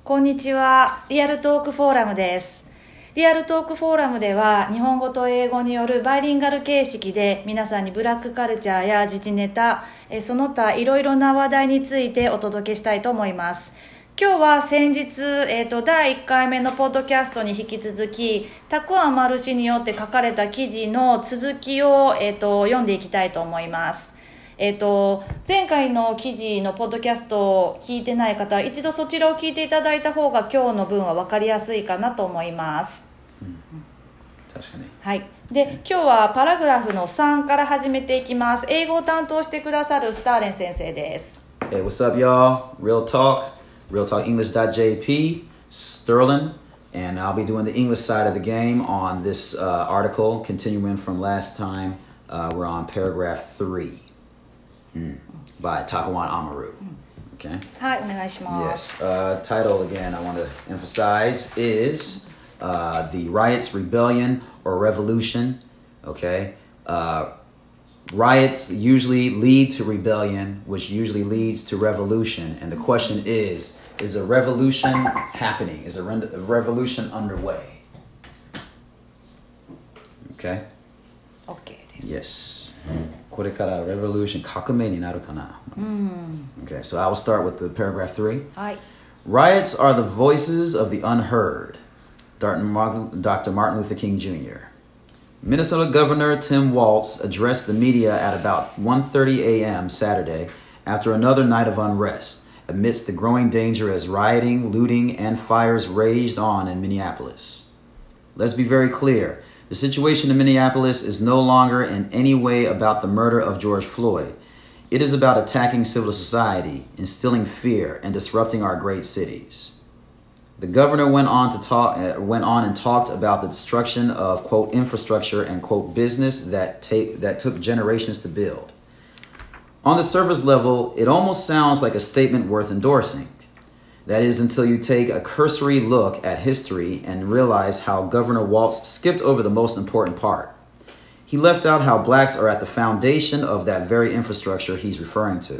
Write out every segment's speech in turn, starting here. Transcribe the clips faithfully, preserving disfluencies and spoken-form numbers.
こんにちは。リアルトークフォーラムです。リアルトークフォーラムでは日本語と英語によるバイリンガル形式で皆さんにブラックカルチャーや時事ネタ、その他いろいろな話題についてお届けしたいと思います。今日は先日、えーと、だいいっかいめのポッドキャストに引き続きタクアンマルシによって書かれた記事の続きを、えーと、読んでいきたいと思います。えーと、前回の記事のポッドキャストを聞いてない方は一度そちらを聞いていただいた方が今日の分は分かりやすいかなと思います、うん、 確かに。 はい。で、今日はパラグラフのさんから始めていきます。英語を担当してくださるスターレン先生です。 Hey, what's up, y'all? Real Talk, real talk english dot j p, Sterling, and I'll be doing the English side of the game on this uh, article, continuing from last time. Uh, we're on paragraph three.Mm. By Takawan Amaru. Okay. はい、お願いします。 Yes. Uh, title again I want to emphasize is uh, the riots, rebellion, or revolution. Okay. Uh, riots usually lead to rebellion, which usually leads to revolution. And the question is, is a revolution happening? Is a, re- a revolution underway? Okay. Okay です。 Yes. これから revolution 革命になるかな。Okay, so I will start with the paragraph three. はい。 Riots are the voices of the unheard. Doctor Martin Luther King Junior Minnesota Governor Tim Walz addressed the media at about one thirty a.m. Saturday after another night of unrest, amidst the growing danger as rioting, looting, and fires raged on in Minneapolis. Let's be very clear.The situation in Minneapolis is no longer in any way about the murder of George Floyd. It is about attacking civil society, instilling fear, and disrupting our great cities. The governor went on to talk, uh, went on and talked about the destruction of, quote, infrastructure and, quote, business that, ta- that took generations to build. On the surface level, it almost sounds like a statement worth endorsing.That is until you take a cursory look at history and realize how Governor Walz skipped over the most important part. He left out how blacks are at the foundation of that very infrastructure he's referring to.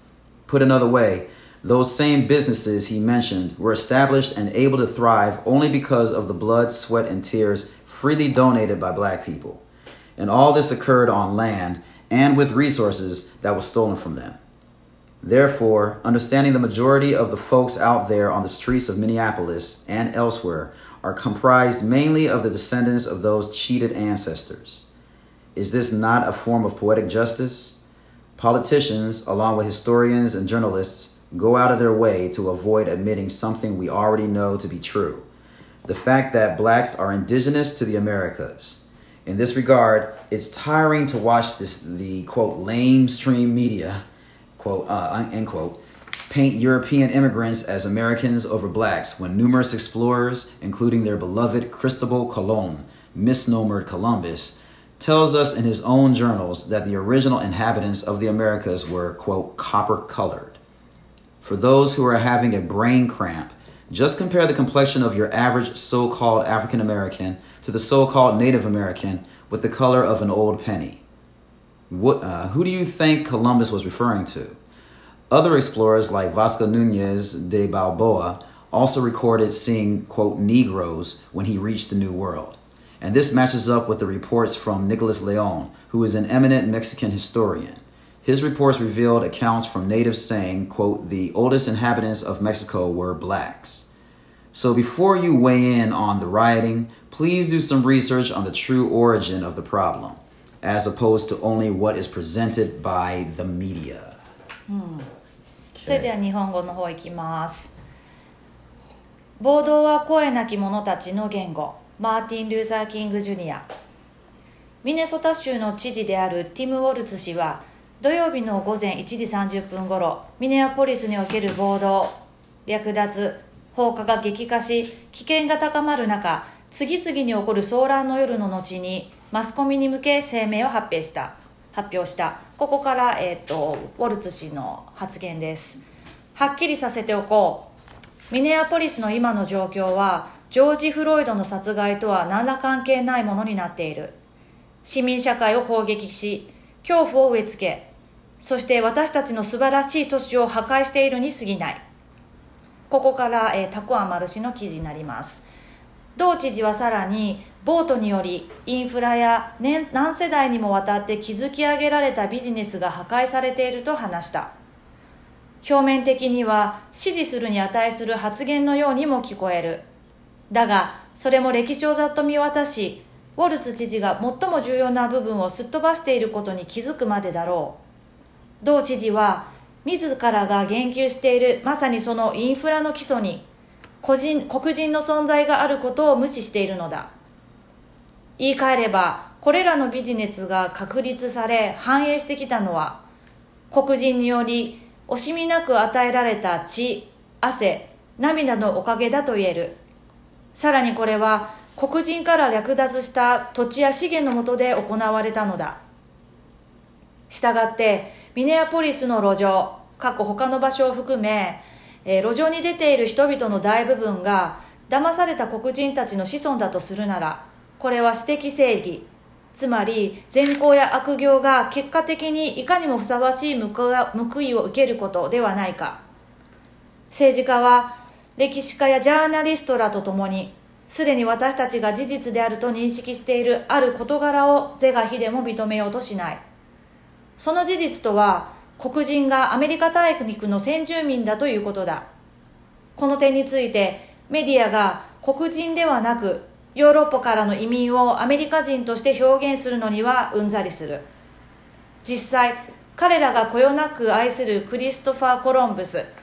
Put another way, those same businesses he mentioned were established and able to thrive only because of the blood, sweat, and tears freely donated by black people. And all this occurred on land and with resources that was stolen from them.Therefore, understanding the majority of the folks out there on the streets of Minneapolis and elsewhere are comprised mainly of the descendants of those cheated ancestors. Is this not a form of poetic justice? Politicians, along with historians and journalists, go out of their way to avoid admitting something we already know to be true. The fact that blacks are indigenous to the Americas. In this regard, it's tiring to watch this, the, quote, lamestream media,quote, uh, end quote, paint European immigrants as Americans over blacks when numerous explorers, including their beloved Cristobal Colon, misnomered Columbus, tells us in his own journals that the original inhabitants of the Americas were, quote, copper-colored. For those who are having a brain cramp, just compare the complexion of your average so-called African American to the so-called Native American with the color of an old penny.What, uh, who do you think Columbus was referring to? Other explorers like Vasco Nunez de Balboa also recorded seeing, quote, Negroes when he reached the New World. And this matches up with the reports from Nicolas Leon, who is an eminent Mexican historian. His reports revealed accounts from natives saying, quote, the oldest inhabitants of Mexico were blacks. So before you weigh in on the rioting, please do some research on the true origin of the problem.As opposed to only what is presented by the media. うん、それでは日本語の方いきます。暴動は声なき者たちの言語。マーティン・ルーサー・キング・ジュニア。ミネソタ州の知事であるティム・ウォルツ氏は土曜日の午前いちじさんじゅっぷん頃、ミネアポリスにおける暴動、略奪、放火が激化し、危険が高まる中、次々に起こる騒乱の夜の後にマスコミに向け声明を発表した発表したここから、えー、とウォルツ氏の発言です。はっきりさせておこう。ミネアポリスの今の状況はジョージ・フロイドの殺害とは何ら関係ないものになっている。市民社会を攻撃し恐怖を植え付け、そして私たちの素晴らしい都市を破壊しているに過ぎない。 ここから、えー、タコアマル氏の記事になります。同知事はさらに、ボートによりインフラや何世代にもわたって築き上げられたビジネスが破壊されていると話した。表面的には支持するに値する発言のようにも聞こえる。だが、それも歴史をざっと見渡し、ウォルツ知事が最も重要な部分をすっ飛ばしていることに気づくまでだろう。同知事は、自らが言及しているまさにそのインフラの基礎に、個人、黒人の存在があることを無視しているのだ。言い換えれば、これらのビジネスが確立され繁栄してきたのは、黒人により惜しみなく与えられた血、汗、涙のおかげだと言える。さらにこれは黒人から略奪した土地や資源の下で行われたのだ。したがってミネアポリスの路上、過去他の場所を含め、えー、路上に出ている人々の大部分が騙された黒人たちの子孫だとするなら、これは私的正義、つまり善行や悪行が結果的にいかにもふさわしい報いを受けることではないか。政治家は歴史家やジャーナリストらとともに、すでに私たちが事実であると認識しているある事柄を是が非でも認めようとしない。その事実とは、黒人がアメリカ大陸の先住民だということだ。この点についてメディアが黒人ではなくヨーロッパからの移民をアメリカ人として表現するのにはうんざりする。実際彼らがこよなく愛するクリストファー・コロンブス、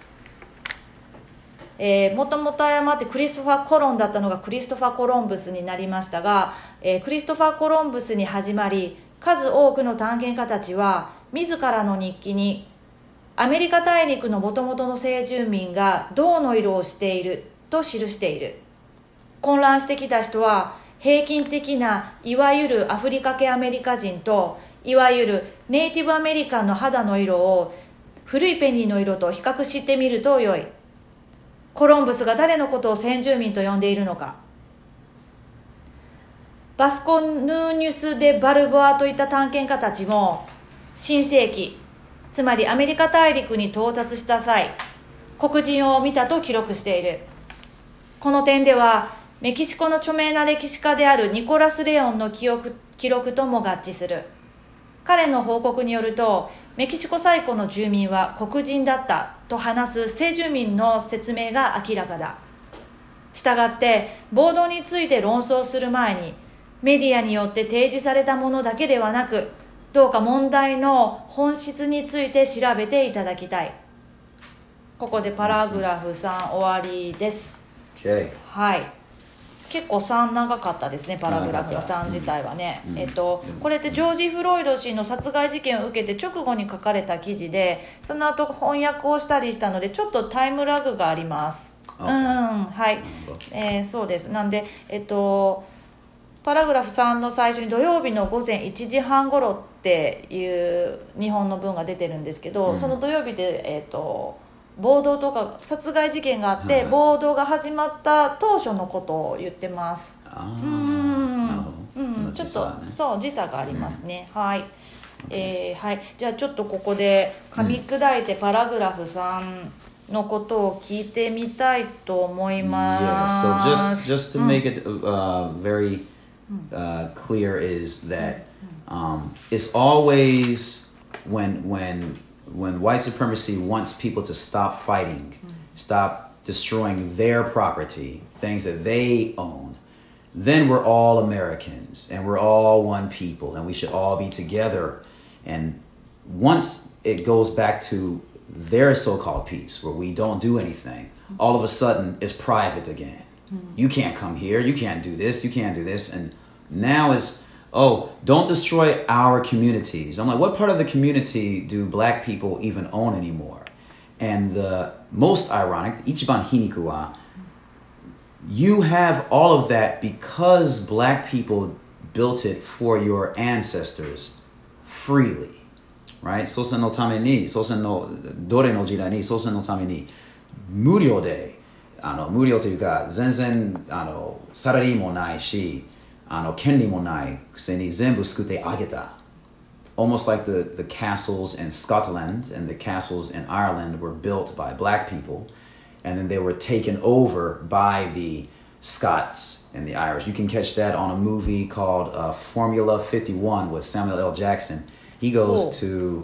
えー、もともと誤ってクリストファー・コロンだったのがクリストファー・コロンブスになりましたが、えー、クリストファー・コロンブスに始まり、数多くの探検家たちは自らの日記にアメリカ大陸のもともとの先住民が銅の色をしていると記している。混乱してきた人は平均的ないわゆるアフリカ系アメリカ人といわゆるネイティブアメリカンの肌の色を古いペニーの色と比較してみると良い。コロンブスが誰のことを先住民と呼んでいるのか。バスコヌーニュス・デ・バルボアといった探検家たちも新世紀、つまりアメリカ大陸に到達した際、黒人を見たと記録している。この点ではメキシコの著名な歴史家であるニコラス・レオンの記憶、記録とも合致する。彼の報告によると、メキシコ最古の住民は黒人だったと話す先住民の説明が明らかだ。したがって暴動について論争する前に、メディアによって提示されたものだけではなく、どうか問題の本質について調べていただきたい。ここでパラグラフさん終わりです。 Okay. はい。結構さん長かったですね、パラグラフのさん自体はね、うん、えっと、これってジョージ・フロイド氏の殺害事件を受けて直後に書かれた記事で、その後翻訳をしたりしたのでちょっとタイムラグがあります。うん、はい、えー、そうです。なんで、えっとパラグラフさんの最初に土曜日の午前いちじはん頃っていう日本の文が出てるんですけど、うん、その土曜日で、えっと暴動とか殺害事件があって、はい、暴動が始まった当初のことを言ってます。 あうん、うん、ちょっとそう時差がありますね、うん、はい、えー、はい、じゃあちょっとここで噛み砕いてパラグラフさんのことを聞いてみたいと思います。 Yeah, so just, just to make it uh, very uh, clear is that um, it's always when when when white supremacy wants people to stop fighting, stop destroying their property, things that they own, then we're all Americans and we're all one people and we should all be together. And once it goes back to their so-called peace where we don't do anything, all of a sudden it's private again. You can't come here, you can't do this, you can't do this. And now it's, oh, don't destroy our communities. I'm like, what part of the community do black people even own anymore? And the most ironic, ichiban hiniku wa, you have all of that because black people built it for your ancestors freely, right? Sosen no tame ni, sosen no dore no jidai ni, sosen no tame ni, muryō de, あの無料というか全然あのサラリーもないし、あの権利もないくせに全部救ってあげた。Almost like the, the castles in Scotland and the castles in Ireland were built by black people. and then they were taken over by the Scots and the Irish. You can catch that on a movie called uh, Formula fifty-one with Samuel L. Jackson. He goes to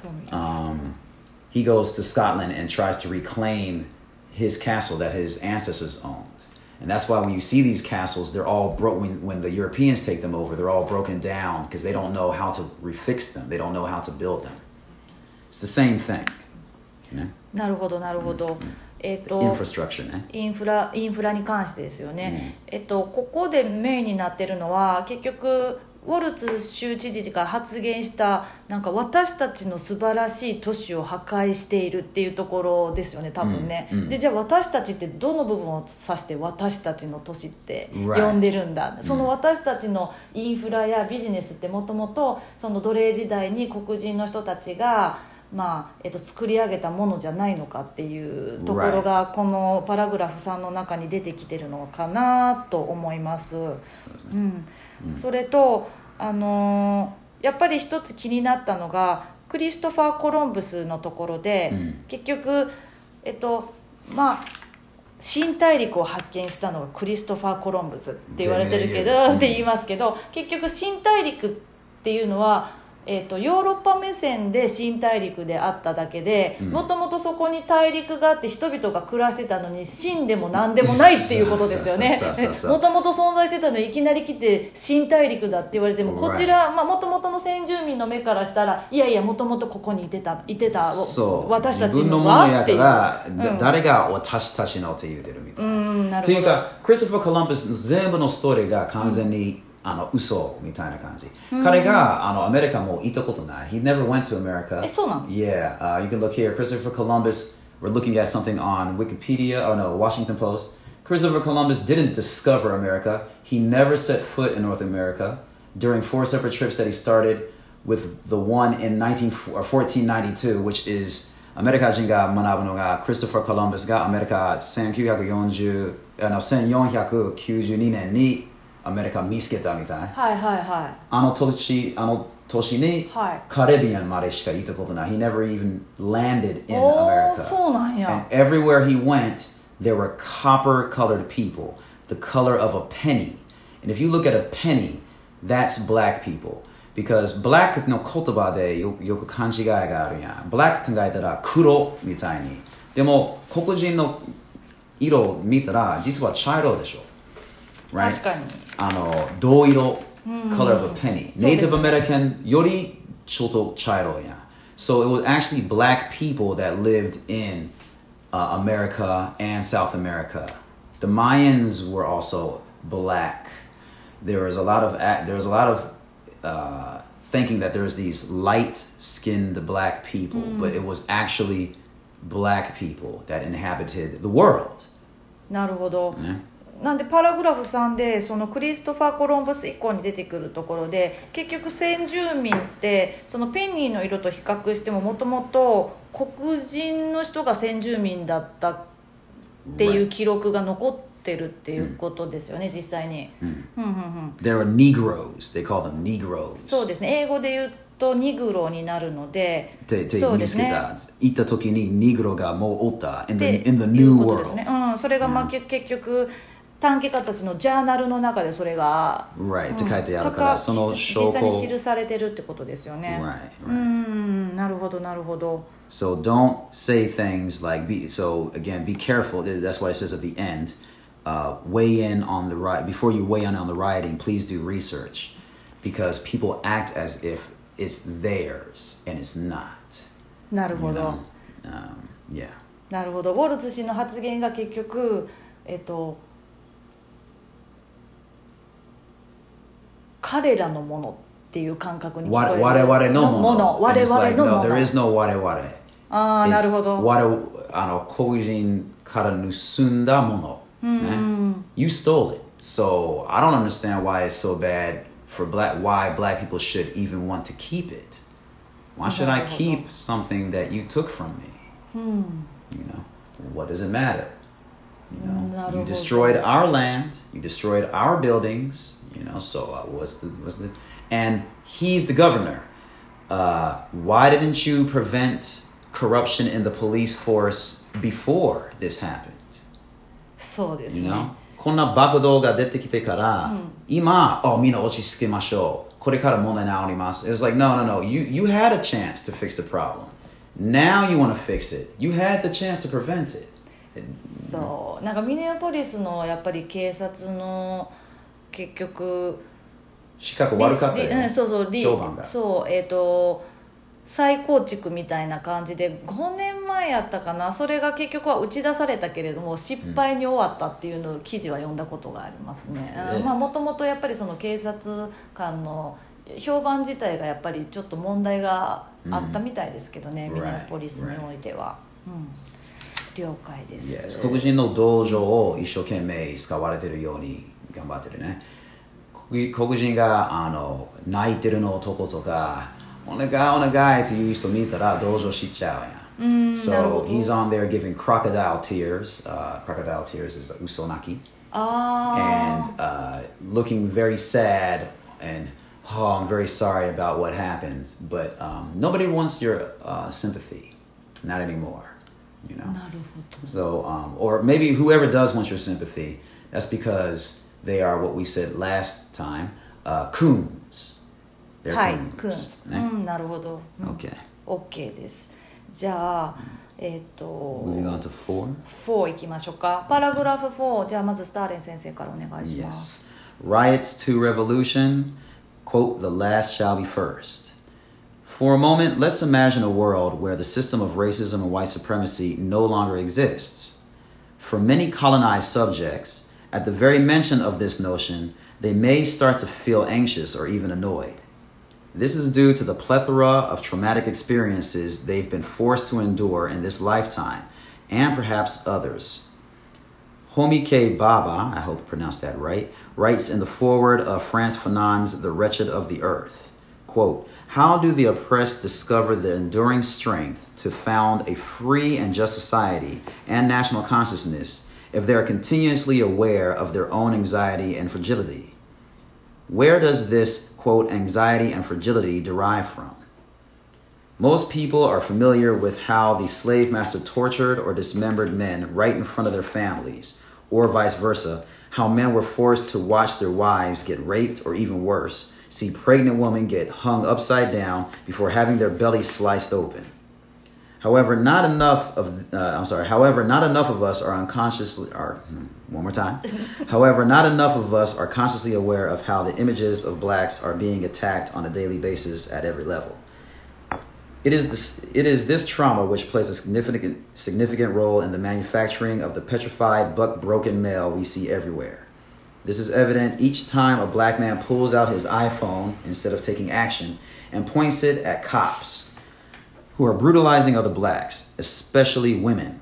um, he goes to Scotland and tries to reclaim his castle that his ancestors owned. And that's why when you see these castles, they're all broke. When, when the Europeans take them over, they're all broken down because they don't know how to refix them. They don't know how to build them. It's the same thing. ね、 なるほどなるほど。えっと、 インフラストラクチャーね。 インフラ、インフラに関してですよね。うん、えっと、ここでメインになってるのは結局ウォルツ州知事が発言したなんか私たちの素晴らしい都市を破壊しているっていうところですよね、多分ね。うんうん、でじゃあ私たちってどの部分を指して私たちの都市って呼んでるんだ。Right. その私たちのインフラやビジネスってもともとその奴隷時代に黒人の人たちがまあえっと、作り上げたものじゃないのかっていうところがこのパラグラフさんの中に出てきてるのかなと思います。うん、それと、あのー、やっぱり一つ気になったのがクリストファー・コロンブスのところで、うん、結局、えっとまあ、新大陸を発見したのがクリストファー・コロンブスって言われてるけど、うん、って言いますけど、結局新大陸っていうのはえー、とヨーロッパ目線で新大陸であっただけで、もともとそこに大陸があって人々が暮らしてたのに新でも何でもないっていうことですよね。もともと存在してたのにいきなり来て新大陸だって言われても、こちらもともとの先住民の目からしたらいやいやもともとここにいてたいてた私たちのはっていう、 うん、誰が私たちのって言ってるみたいな。うんなるほど。というかクリストファー・コロンブス全部のストーリーが完全に、うんあの嘘みたいな感じ。うん、彼があのアメリカも行ったことない。He never went to America. え、そうなの? Yeah, uh, you can look here. Christopher Columbus. We're looking at something on Wikipedia. Oh no, Washington Post. Christopher Columbus didn't discover America. He never set foot in North America. During four separate trips that he started, with the one in fourteen ninety-two, which is アメリカ人が学ぶのがクリストファー・コロンブスがアメリカせんきゅうひゃくよんじゅうあのせんよんひゃくきゅうじゅうにねんにアメリカ見つけたみたい。 はいはいはい。 あの年、あの年に、はい、カリビアンまでしか行ったことない。He never even landed in America. そうなんや。 And everywhere he went, there were copper-colored people, the color of a penny. And if you look at a penny, that's black people. Because black の言葉で よ, よく勘違いがあるやん。black 考えたら黒みたいに。でも黒人の色を見たら実は茶色でしょ。Right? 確かに。 あの銅色 color of a penny. Native American よりちょっと茶色やん。So it was actually black people that lived in uh, America and South America. The Mayans were also black. There was a lot of there was a lot of uh, thinking that there was these light-skinned black people, mm. but it was actually black people that inhabited the world. なるほど。ね。なんでパラグラフさんでそのクリストファー・コロンブス以降に出てくるところで結局先住民ってそのペニーの色と比較してももともと黒人の人が先住民だったっていう記録が残ってるっていうことですよね、実際に。 There are Negroes. They call them Negroes. そうですね。英語で言うとニグロになるので、 でで見つけた。行った時にニグロがもうおった in the, in the new world。 ね、うん、それがまあ、うん、結局探検家たちのジャーナルの中でそれが、 right. って書いてあるから、その証拠実際に記されてるってことですよね。 Right, right. うん、なるほどなるほど。 So don't say things like be. So again, be careful. That's why it says at the end, uh, weigh in on the riot. Before you weigh in on the rioting, please do research, because people act as if it's theirs and it's not. なるほど。 You know? um, yeah. なるほど。ウォルツ氏の発言が結局、えっと。彼らのものっていう感覚に聞こえる。 我々のもの。 我々のもの。 No, there is no 我々。 ああ、なるほど。 我あの黒人から盗んだもの。ね。You stole it. So I don't understand why it's so bad for black. Why black people should even want to keep it. Why should I keep something that you took from me? You know, what does it matter? You know, you destroyed our land. You destroyed our buildings. You know, so uh, what's the what's the and he's the governor. Uh, why didn't you prevent corruption in the police force before this happened. そうです You ね。 know? こんな爆動が出てきてから、 うん、 今、oh, みんな落ち着けましょう。これから問題直ります。It was like, no, no, no. You, you had a chance to fix the problem. Now you want to fix it. You had the chance to prevent it. そうなんかミネアポリスのやっぱり警察の結局資格悪かったよ、 うん、そうそう評判がそうえっ、ー、と再構築みたいな感じでごねんまえやったかな、それが結局は打ち出されたけれども失敗に終わったっていうのを記事は読んだことがありますね。もともとやっぱりその警察官の評判自体がやっぱりちょっと問題があったみたいですけどね、うん、ミネアポリスにおいては、right. うん了解です。 Yes. 黒人の道場を一生懸命使われてるように頑張ってるね。黒人があの泣いてるの男とかお願いお願いっていう人見たら道場知っちゃうやん。 うん、 So he's on there giving crocodile tears. Uh, crocodile tears is uso naki. あ And uh, looking very sad and oh, I'm very sorry about what happened. But um, nobody wants your uh, sympathy. Not anymore.You know? なるほど。 So, um, or maybe whoever does want your sympathy, that's because they are what we said last time, uh, coons. They're はい、 coons. クーンズ、 ね、 うん、なるほど。うん、 Okay. OK です。じゃあ、えっ、ー、と、 Moving on to four. フォーいきましょうか。パラグラフフォー、じゃあまずスターレン先生からお願いします。 Yes. Riots to revolution, quote, the last shall be first.For a moment, let's imagine a world where the system of racism and white supremacy no longer exists. For many colonized subjects, at the very mention of this notion, they may start to feel anxious or even annoyed. This is due to the plethora of traumatic experiences they've been forced to endure in this lifetime, and perhaps others. Homi K. Baba, I hope I pronounced that right, writes in the foreword of Frantz Fanon's The Wretched of the Earth, quote,How do the oppressed discover the enduring strength to found a free and just society and national consciousness if they are continuously aware of their own anxiety and fragility? Where does this, quote, anxiety and fragility derive from? Most people are familiar with how the slave master tortured or dismembered men right in front of their families, or vice versa, how men were forced to watch their wives get raped or even worse,see pregnant women get hung upside down before having their bellies sliced open. However, not enough of uh, I'm sorry. However, not enough of us are unconsciously are one more time. However, not enough of us are consciously aware of how the images of blacks are being attacked on a daily basis at every level. It is this it is this trauma which plays a significant significant role in the manufacturing of the petrified, buck-broken male we see everywhere.This is evident each time a black man pulls out his iPhone instead of taking action and points it at cops who are brutalizing other blacks, especially women.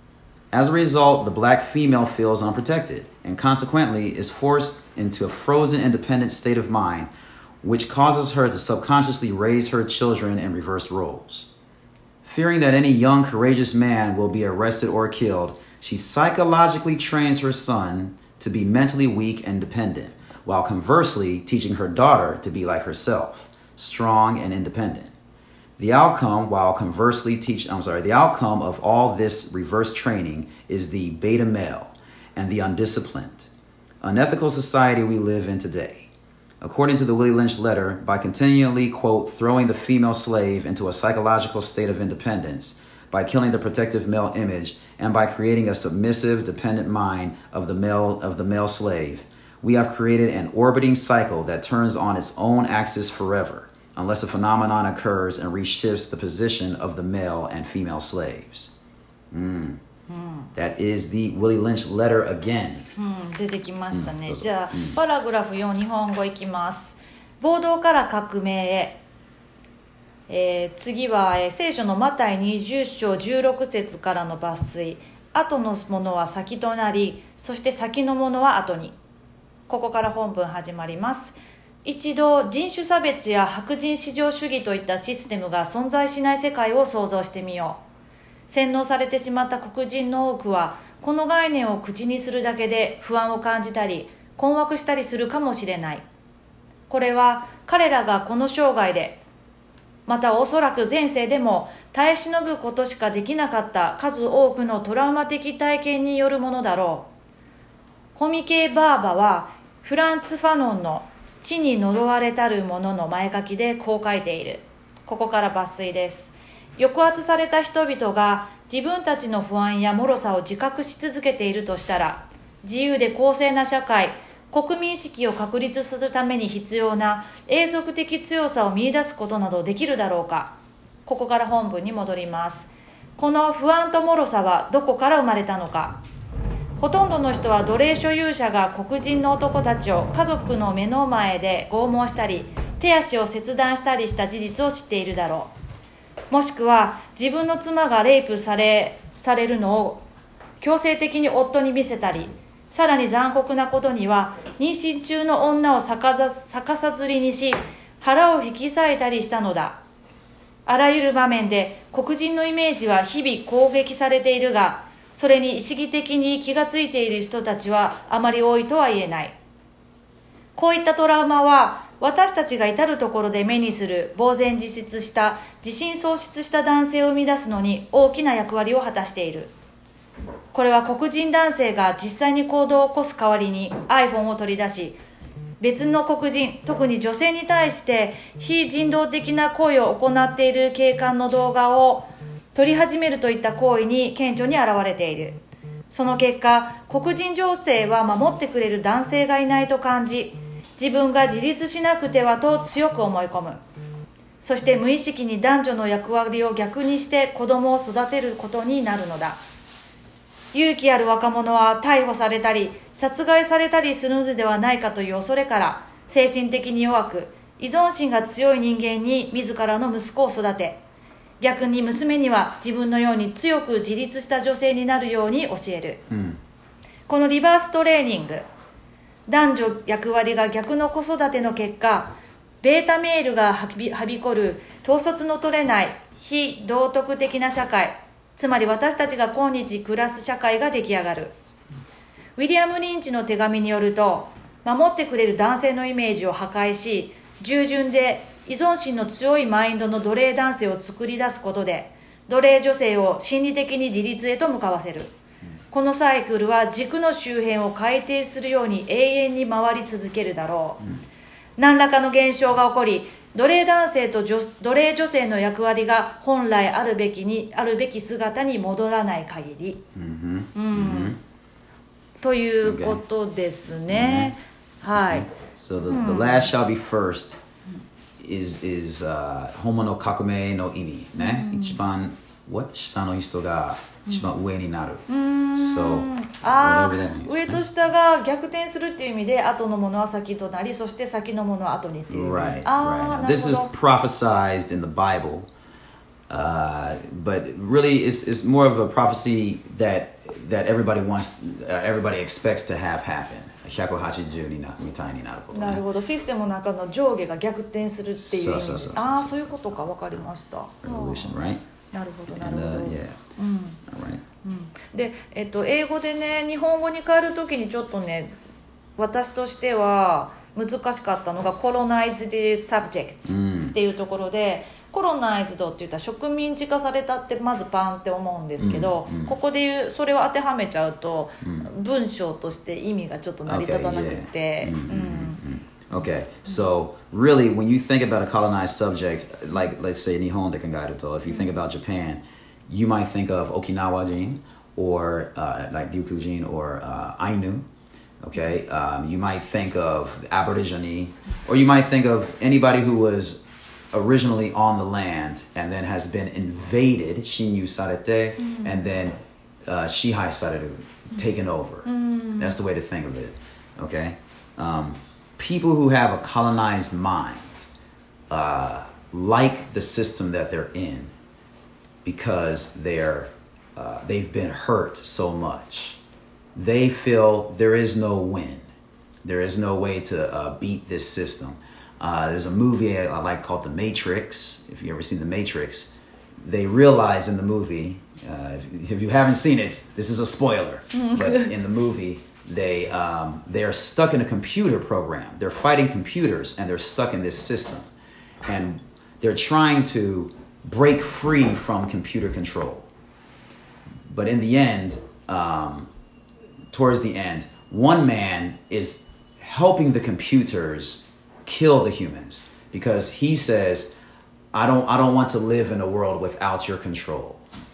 As a result, the black female feels unprotected and consequently is forced into a frozen independent state of mind, which causes her to subconsciously raise her children in reversed roles. Fearing that any young, courageous man will be arrested or killed, she psychologically trains her son to be mentally weak and dependent, while conversely teaching her daughter to be like herself, strong and independent. The outcome, while conversely teach, I'm sorry, the outcome of all this reverse training is the beta male and the undisciplined, unethical society we live in today. According to the Willie Lynch letter, by continually, quote, throwing the female slave into a psychological state of independence, by killing the protective male image, and by creating a submissive, dependent mind of the male of the male slave, we have created an orbiting cycle that turns on its own axis forever, unless a phenomenon occurs and reshifts the position of the male and female slaves. Mm. Mm. That is the Willie Lynch letter again. うん、出てきましたね。 うん、 じゃあ、うん、パラグラフよん日本語いきます。暴動から革命へ。えー、次は、えー、聖書のマタイにじゅう章じゅうろく節からの抜粋。後のものは先となり、そして先のものは後に。ここから本文始まります。一度人種差別や白人至上主義といったシステムが存在しない世界を想像してみよう。洗脳されてしまった黒人の多くはこの概念を口にするだけで不安を感じたり困惑したりするかもしれない。これは彼らがこの生涯でまたおそらく前世でも耐え忍ぶことしかできなかった数多くのトラウマ的体験によるものだろう。ホミケ・バーバはフランツ・ファノンの地に呪われたるものの前書きでこう書いている。ここから抜粋です。抑圧された人々が自分たちの不安や脆さを自覚し続けているとしたら、自由で公正な社会、国民意識を確立するために必要な永続的強さを見出すことなどできるだろうか。ここから本文に戻ります。この不安と脆さはどこから生まれたのか。ほとんどの人は奴隷所有者が黒人の男たちを家族の目の前で拷問したり、手足を切断したりした事実を知っているだろう。もしくは自分の妻がレイプされ、されるのを強制的に夫に見せたり、さらに残酷なことには妊娠中の女を逆さ、逆さ吊りにし腹を引き裂いたりしたのだ。あらゆる場面で黒人のイメージは日々攻撃されているが、それに意識的に気がついている人たちはあまり多いとは言えない。こういったトラウマは私たちが至るところで目にする呆然自失した自信喪失した男性を生み出すのに大きな役割を果たしている。これは黒人男性が実際に行動を起こす代わりに iPhone を取り出し、別の黒人、特に女性に対して非人道的な行為を行っている警官の動画を撮り始めるといった行為に顕著に現れている。その結果、黒人女性は守ってくれる男性がいないと感じ、自分が自立しなくてはと強く思い込む。そして無意識に男女の役割を逆にして子供を育てることになるのだ。勇気ある若者は逮捕されたり殺害されたりするのではないかという恐れから、精神的に弱く依存心が強い人間に自らの息子を育て、逆に娘には自分のように強く自立した女性になるように教える、うん、このリバーストレーニング、男女役割が逆の子育ての結果、ベータメールがはび、はびこる統率の取れない非道徳的な社会、つまり私たちが今日暮らす社会が出来上がる。ウィリアム・リンチの手紙によると、守ってくれる男性のイメージを破壊し、従順で依存心の強いマインドの奴隷男性を作り出すことで、奴隷女性を心理的に自立へと向かわせる。このサイクルは軸の周辺を回転するように永遠に回り続けるだろう、うん、何らかの現象が起こり、奴隷男性と女奴隷女性の役割が本来あるべきにあるべき姿に戻らない限り、うんうん、ということですね、mm-hmm. はい。 So the, the last shall be first is, is、uh, ホモの革命の意味ね、mm-hmm. 一番 what? 下の人が一番上になる、 mm-hmm. So あー、上と下が逆転するっていう意味で、後のものは先となり、そして先のものは後にっていう。 Right, right. This is prophesied in the Bible, uh, but really it's, it's more of a prophecy that, that everybody wants, uh, everybody expects to have happen. ひゃくはちじゅうになみたいになることね。 なるほど、システムの中の上下が逆転するっていう意味で。 そうそうそうそう。 ああ、そういうことか、分かりました。 Revolution, right? なるほどなるほど、 And, uh, yeah. うん、 Alright. うん、で、えっと、英語でね、日本語に変えるときにちょっとね、私としては難しかったのが colonized subjects っていうところで、コロナイズドって言ったら植民地化されたってまずパンって思うんですけど、うんうん、ここで言うそれを当てはめちゃうと、うん、文章として意味がちょっと成り立たなくて、 Okay, so really when you think about a colonized subject, like let's say 日本で考えると、if you think about Japan, you might think of Okinawa人 or uh, like Ryukyu人 or uh, Ainu. Okay, um, you might think of Aborigine, or you might think of anybody who was originally on the land and then has been invaded, shinyu sarete, mm-hmm. and then uh, shihai sareru, taken over. Mm-hmm. That's the way to think of it. Okay, um, people who have a colonized mind uh, like the system that they're in because they're uh, they've been hurt so much. They feel there is no win. There is no way to uh, beat this system. Uh, there's a movie I like called The Matrix. If you've ever seen The Matrix, they realize in the movie, uh, if, if you haven't seen it, this is a spoiler. But in the movie, they um, they are stuck in a computer program. They're fighting computers and they're stuck in this system. And they're trying to break free from computer control. But in the end, um, towards the end, one man is helping the computers kill the humans because he says, I don't, I don't want to live in a world without your control.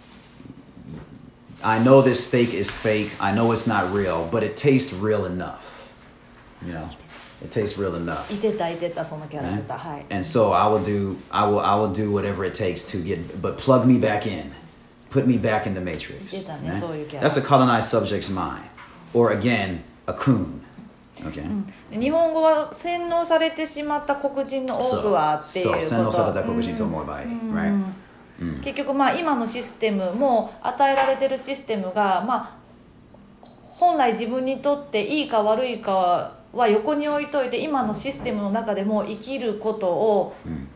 I know this steak is fake. I know it's not real, but it tastes real enough. You know, it tastes real enough. いてたいてたそのキャラクター、はい。 And so I will do, I will, I will do whatever it takes to get, but plug me back in, put me back in the matrix. いてたね、そういうキャラ。 That's a colonized subject's mind, or again, a coon. Okay. うん、日本語は洗脳されてしまった黒人の多くはっていうこと。 そう、洗脳された黒人と思えばいい、right? うん、結局まあ今のシステムも与えられてるシステムがまあ本来自分にとっていいか悪いかは横に置いといて今のシステムの中でも生きることを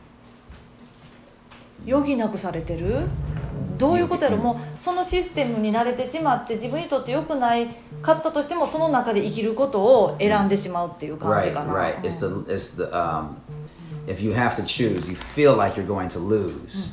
余儀なくされてる。どういうことやろ。もうそのシステムに慣れてしまって自分にとって良くないかったとしてもその中で生きることを選んでしまうっていう感じかな。 Right, right. It's the, it's the, um, if you have to choose, you feel like you're going to lose.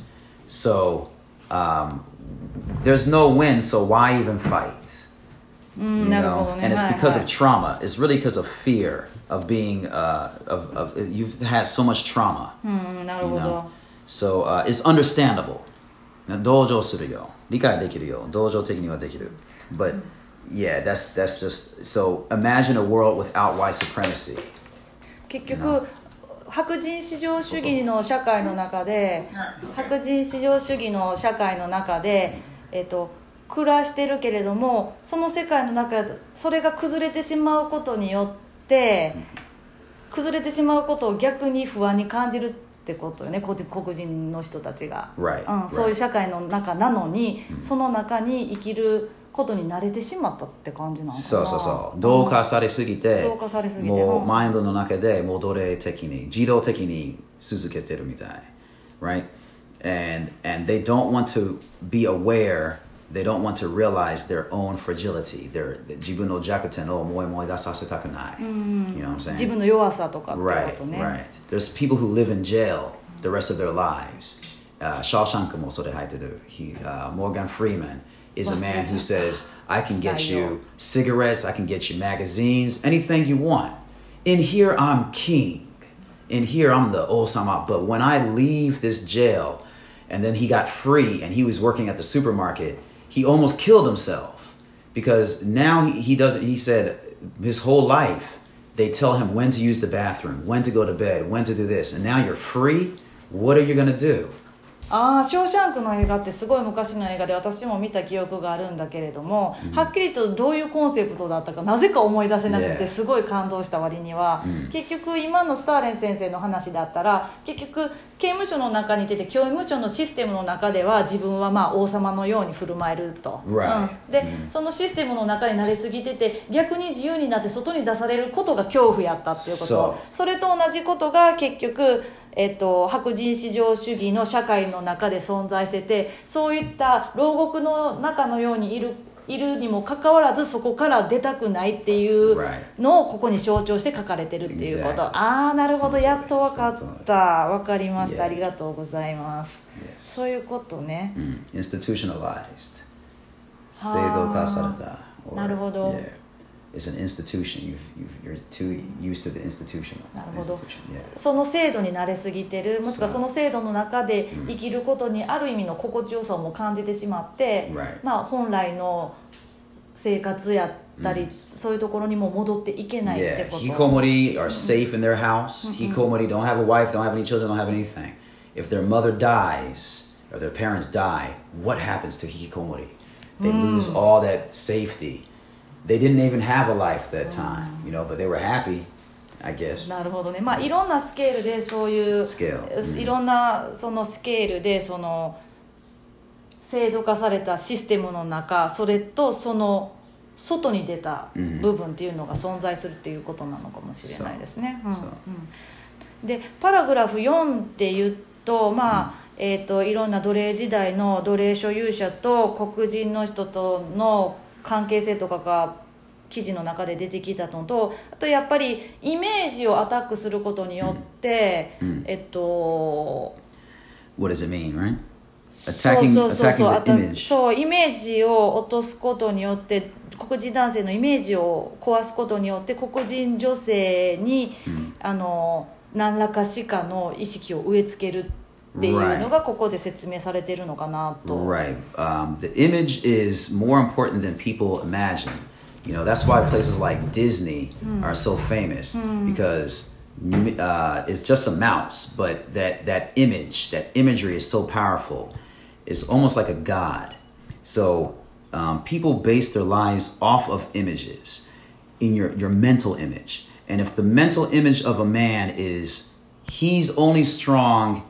So um, there's no win, so why even fight? You know? And it's because of trauma. It's really because of fear of being, uh, of, of you've had so much trauma. You know? So uh, it's understandable. 同情するよ。理解できるよ。同情的にはできる。But yeah, that's, that's just, so imagine a world without white supremacy. 結局、白人至上主義の社会の中で白人至上主義の社会の中で、えっと、暮らしてるけれどもその世界の中でそれが崩れてしまうことによって崩れてしまうことを逆に不安に感じるってことよね。黒人の人たちが、 right, うん、そういう社会の中なのに、 right. その中に生きることに慣れてしまったって感じなのかな。 そうそうそう。同化されすぎて、 同化されすぎてもうマインドの中でもう奴隷的に自動的に続けてるみたい。Right? And, and they don't want to be aware, they don't want to realize their own fragility. Their, 自分の弱点をもう思い出させたくない。You know what I'm saying? 自分の弱さとかってことね。 Right, right. There's people who live in jail the rest of their lives. Uh, Shawshank もそれ入ってる。He, uh, Morgan Freeman is a man who says, I can get you cigarettes, I can get you magazines, anything you want. In here, I'm king. In here, I'm the Osama. But when I leave this jail, and then he got free, and he was working at the supermarket, he almost killed himself. Because now he, he doesn't, he said, his whole life, they tell him when to use the bathroom, when to go to bed, when to do this. And now you're free, what are you going to do? ああ、ショーシャンクの映画ってすごい昔の映画で私も見た記憶があるんだけれども、うん、はっきりとどういうコンセプトだったかなぜか思い出せなくてすごい感動した割には、yeah. 結局今のスターレン先生の話だったら結局刑務所の中にいてて刑務所のシステムの中では自分はまあ王様のように振る舞えると、 right. うん、で、mm. そのシステムの中に慣れすぎてて逆に自由になって外に出されることが恐怖やったっていうこと、so. それと同じことが結局えっと、白人至上主義の社会の中で存在しててそういった牢獄の中のようにいる、いるにもかかわらずそこから出たくないっていうのをここに象徴して書かれてるっていうこと、exactly. ああなるほどやっと分かった分かりました、yeah. ありがとうございます、yes. そういうことね、 mm. Institutionalized 制度化されたなるほど、 yeah. It's an institution. You've, you've, you're too used to the institution. なるほど。その制度に慣れすぎてるもしくはその制度の中で生きることにある意味の心地よさも感じてしまって、 right. まあ、本来の生活やったり、mm. そういうところにも戻っていけないってこと。 Yeah. Hikomori are safe in their house. Mm-hmm. Hikomori don't have a wife, don't have any children, don't have anything. If their mother dies or their parents die, what happens to hikikomori? They mm. lose all that safety.They didn't even have a life that time, you know, but they were happy, I guess. なるほどね。まあいろんなスケールでそういういろんなそのスケールでその制度化されたシステムの中、それとその外に出た部分っていうのが存在するっていうことなのかもしれないですね。うんうん、でパラグラフよんって言うと、まあ、えーと、いろんな奴隷時代の奴隷所有者と黒人の人との関係性とかが記事の中で出てきたのと、あとやっぱりイメージをアタックすることによって、うんうん、えっと What does it mean, right? attacking そうそうそうそう attacking the image. そうイメージを落とすことによって黒人男性のイメージを壊すことによって黒人女性に、うん、あの何らかしかの意識を植え付けるっていうのがここで説明されているのかなと。 Right. Um, the image is more important than people imagine. You know, that's why places like Disney mm. are so famous mm. because uh, it's just a mouse, but that, that image, that imagery is so powerful. It's almost like a god. So um, people base their lives off of images in your, your mental image. And if the mental image of a man is he's only strong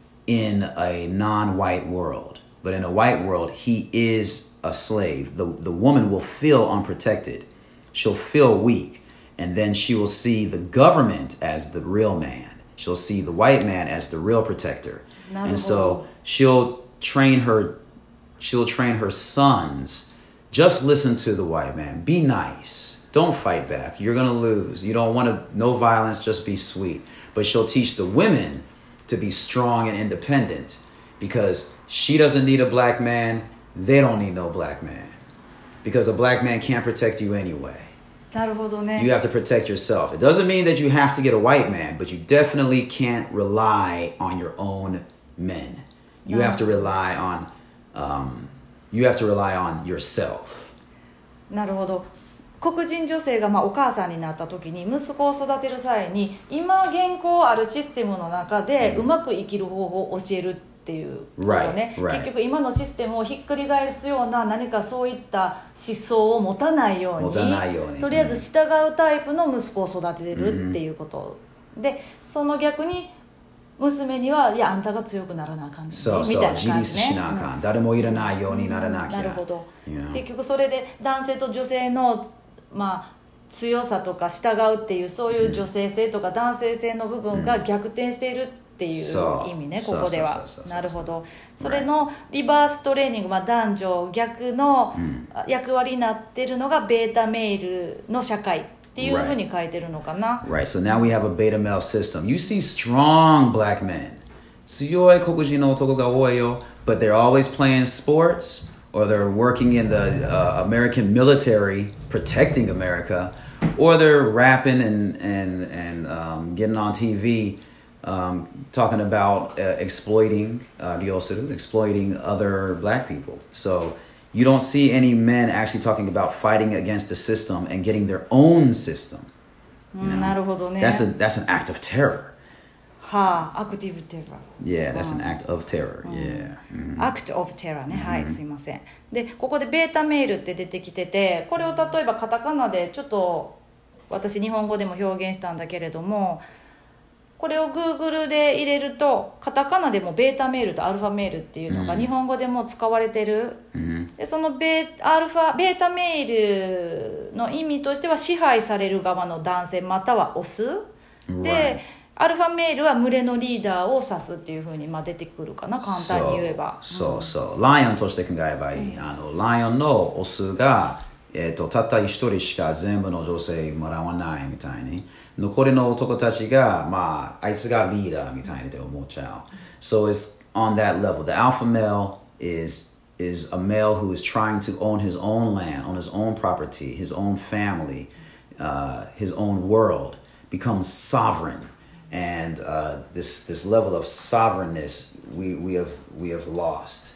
in a non-white world, but in a white world, he is a slave. The, the woman will feel unprotected. She'll feel weak. And then she will see the government as the real man. She'll see the white man as the real protector. And so she'll train her, she'll train her sons. Just listen to the white man. Be nice. Don't fight back. You're going to lose. You don't want to, no violence, just be sweet. But she'll teach the women to be strong and independent because she doesn't need a black man. They don't need no black man because a black man can't protect you anyway. なるほどね。 You have to protect yourself. It doesn't mean that you have to get a white man, but you definitely can't rely on your own men. You have to rely on, um, you have to rely on yourself. なるほど。黒人女性がまあお母さんになった時に息子を育てる際に今現行あるシステムの中でうまく生きる方法を教えるっていうことね、 right, right. 結局今のシステムをひっくり返すような何かそういった思想を持たないように、 持たないように、 とりあえず従うタイプの息子を育てるっていうこと、うん、でその逆に娘にはいやあんたが強くならなあかんねそうそうみたいな感じね、 自立しなあかん、うん、誰もいらないようにならなきゃ、 うん、なるほど、 you know? 結局それで男性と女性のまあ強さとか従うっていうそういう女性性とか男性性の部分が逆転しているっていう意味ね、ここでは。なるほど。それのリバーストレーニング、まあ、男女逆の役割になってるのがベータメールの社会っていうふうに書いてるのかな。 Right. So now we have a beta male system. You see strong black men. 強い黒人の男が多いよ。But they're always playing sports or they're working in the uh, American military protecting America, or they're rapping and, and, and um, getting on T V um, talking about uh, exploiting, uh, exploiting other black people. So you don't see any men actually talking about fighting against the system and getting their own system. You know? なるほどね。 That's a, that's an act of terror. はあ、アクティブテラー。 Yeah, that's an act of terror. Yeah. Mm-hmm. Act of terror ね。はい、すいません。で、ここでベータメールって出てきてて、これを例えばカタカナでちょっと私日本語でも表現したんだけれども、これを Google で入れるとカタカナでもベータメールとアルファメールっていうのが日本語でも使われてる、mm-hmm. でそのベーアルファベータメールの意味としては支配される側の男性またはオス、right. でアルファメールは群れのリーダーを指すっていうふうにまあ出てくるかな、簡単に言えば。 そうそう、ライオンとして考えればいい、うん、あのライオンのオスが、えー、とたった一人しか全部の女性もらわないみたいに、残りの男たちが、まあ、あいつがリーダーみたいに思っちゃう。So it's on that level. The alpha male is, is a male who is trying to own his own land, own his own property, his own family, uh, his own world, become sovereign.And uh, this this level of sovereignness we, we have we have lost,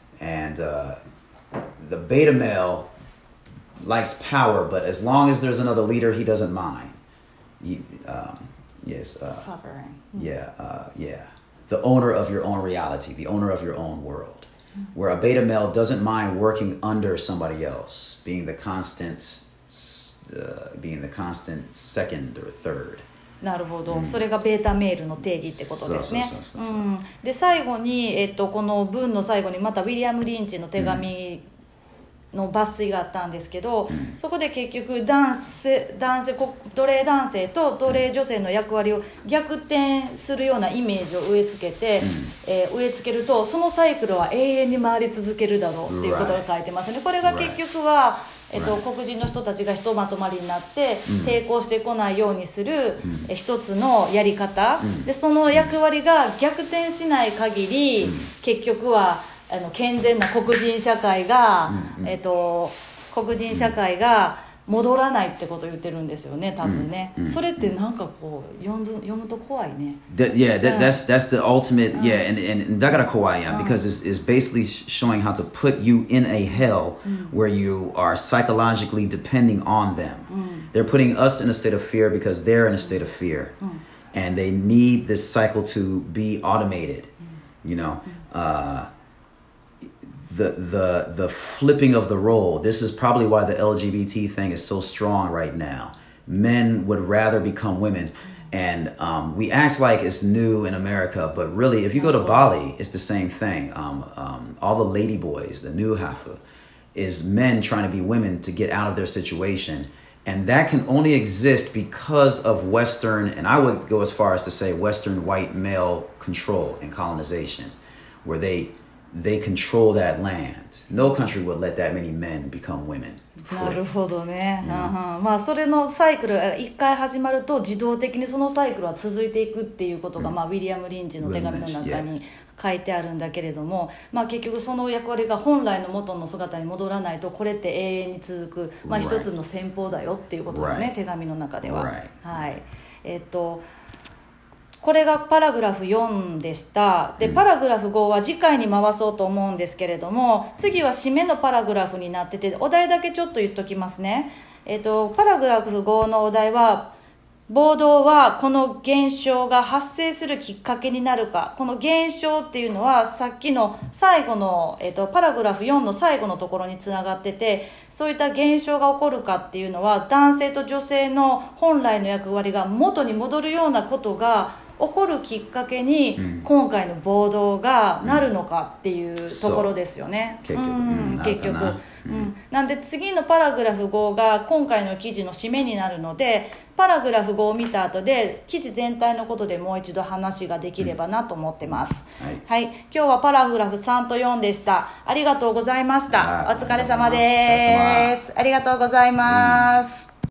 and uh, the beta male likes power, but as long as there's another leader, he doesn't mind. You, um, yes, uh, sovereign. Yeah, uh, yeah. The owner of your own reality, the owner of your own world. Mm-hmm. Where a beta male doesn't mind working under somebody else, being the constant, uh, being the constant second or third. なるほど、うん、それがベータメールの定義ってことですね。で最後に、えっと、この文の最後にまたウィリアム・リンチの手紙の抜粋があったんですけど、うん、そこで結局男性、男性奴隷男性と奴隷女性の役割を逆転するようなイメージを植え付けて、うんえー、植え付けるとそのサイクルは永遠に回り続けるだろうっていうことが書いてますね。これが結局は、えっと、黒人の人たちがひとまとまりになって抵抗してこないようにする、うん、一つのやり方、うん、でその役割が逆転しない限り、うん、結局はあの健全な黒人社会が、 うんうん、 えっと、黒人社会が戻らないってことを言ってるんですよね、多分ね、うんうん、それってなんかこう読む、読むと怖いね。 That, yeah, that, that's that's the ultimate. Yeah, and and だから怖いやん because it's, it's basically showing how to put you in a hell where you are psychologically depending on them. They're putting us in a state of fear because they're in a state of fear, and they need this cycle to be automated. You know, uh, the the the flipping of the role. This is probably why the L G B T thing is so strong right now. Men would rather become women, and um, we act like it's new in America, but really, if you go to Bali, it's the same thing. Um, um, all the lady boys, the new Hafa, is men trying to be women to get out of their situation, and that can only exist because of Western, and I would go as far as to say Western white male control and colonization, where they they control that land. No country would let that many men become women. なるほどね、うんうん、まあそれのサイクルが一回始まると自動的にそのサイクルは続いていくっていうことが、うん、まあ、ウィリアム・リンチの手紙の中に書いてあるんだけれども、まあ、結局その役割が本来の元の姿に戻らないとこれって永遠に続く、まあ、一つの戦法だよっていうことだね、right. 手紙の中では、 right. はい、えーっとこれがパラグラフよんでした。で、パラグラフごは次回に回そうと思うんですけれども、次は締めのパラグラフになってて、お題だけちょっと言っときますね。えっと、パラグラフごのお題は、暴動はこの現象が発生するきっかけになるか。この現象っていうのはさっきの最後の、えっと、パラグラフよんの最後のところにつながってて、そういった現象が起こるかっていうのは男性と女性の本来の役割が元に戻るようなことが起こるきっかけに今回の暴動がなるのかっていうところですよね、 うん、結局、うん、 結局、うん、なんで次のパラグラフごが今回の記事の締めになるので、パラグラフごを見た後で記事全体のことでもう一度話ができればなと思ってます、うん、はい、はい、今日はパラグラフさんとよんでした。ありがとうございました。お疲れ様です。ありがとうございます、うん。